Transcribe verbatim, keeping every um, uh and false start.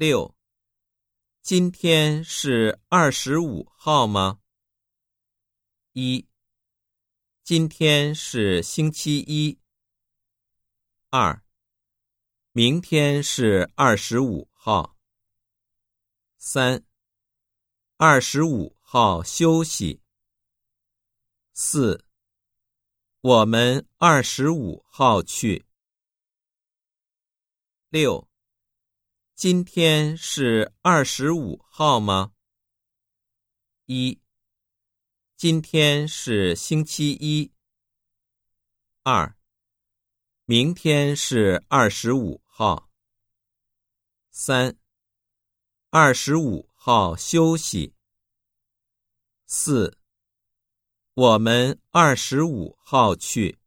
六，今天是二十五号吗？一，今天是星期一。二，明天是二十五号。三，二十五号休息。四，我们二十五号去。六，今天是二十五号吗？一，今天是星期一。二，明天是二十五号。三，二十五号休息。四，我们二十五号去。